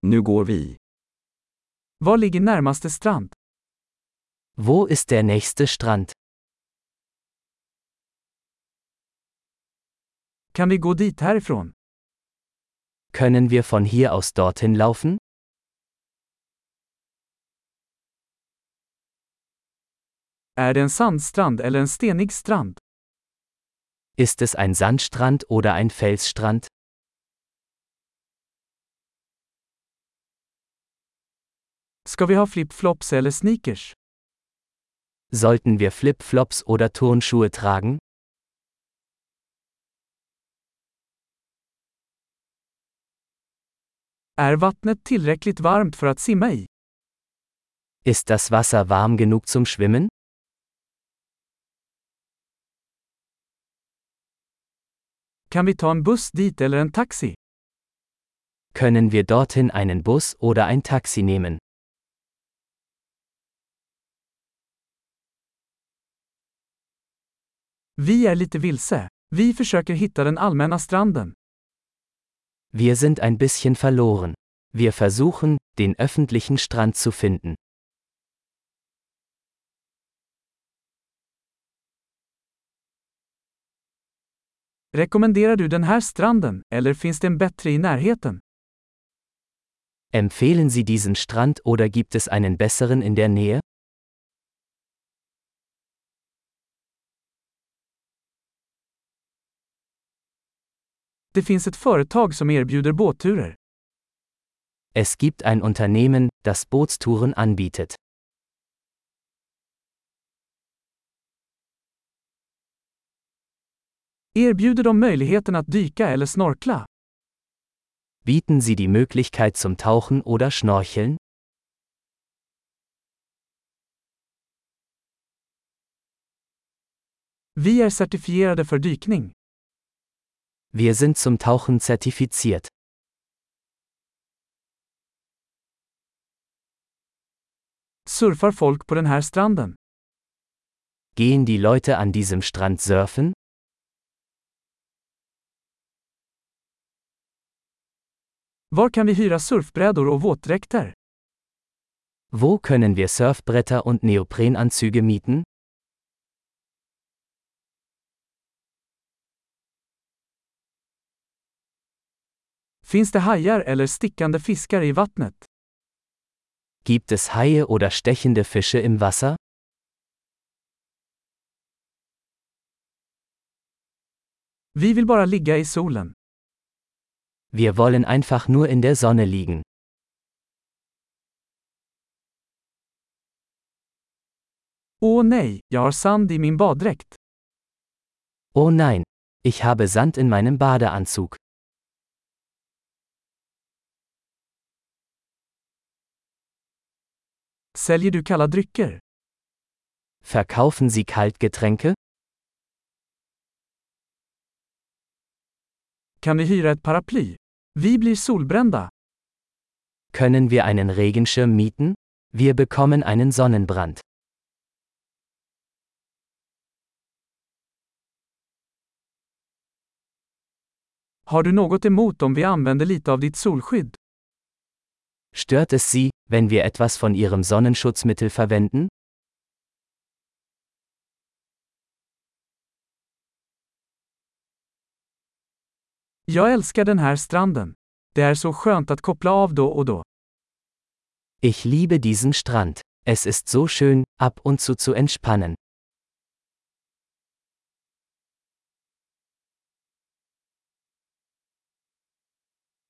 Nu går vi. Var ligger närmaste strand? Wo ist der nächste Strand? Kan vi gå dit härifrån? Können wir von hier aus dorthin laufen? Är det en sandstrand eller en stenig strand? Ist es ein Sandstrand oder ein Felsstrand? Ska vi ha flip-flops eller sneakers? Sollten wir Flip-Flops oder Turnschuhe tragen? Är vattnet tillräckligt varmt för att simma i? Ist das Wasser warm genug zum Schwimmen? Kan vi ta en buss dit eller en taxi? Können wir dorthin einen Bus oder ein Taxi nehmen? Vi är lite vilse. Vi försöker hitta den allmänna stranden. Wir sind ein bisschen verloren. Wir versuchen, den öffentlichen Strand zu finden. Rekommenderar du den här stranden, eller finns det en bättre i närheten? Empfehlen Sie diesen Strand oder gibt es einen besseren in der Nähe? Det finns ett företag som erbjuder båtturer. Es gibt ein Unternehmen, das Bootstouren anbietet. Erbjuder de möjligheten att dyka eller snorkla? Bieten Sie die Möglichkeit zum Tauchen oder Schnorcheln? Vi är certifierade för dykning. Wir sind zum Tauchen zertifiziert. Surfar folk på den här stranden? Gehen die Leute an diesem Strand surfen? Var kan vi hyra surfbrädor och våtdräkter? Wo können wir Surfbretter und Neoprenanzüge mieten? Finns det hajar eller stickande fiskar i vattnet? Gibt es Haie oder stechende Fische im Wasser? Vi vill bara ligga i solen. Wir wollen einfach nur in der Sonne liegen. Åh nej, jag har sand i min baddräkt. Oh nein, ich habe Sand in meinem Badeanzug. Säljer du kalla drycker? Verkaufen Sie Kaltgetränke? Kan vi hyra ett paraply? Vi blir solbrända. Können wir einen Regenschirm mieten? Wir bekommen einen Sonnenbrand. Har du något emot om vi använder lite av ditt solskydd? Stört es Sie, wenn wir etwas von Ihrem Sonnenschutzmittel verwenden? Jag älskar den här stranden. Det är så skönt att koppla av då och då. Ich liebe diesen Strand. Es ist so schön, ab und zu entspannen.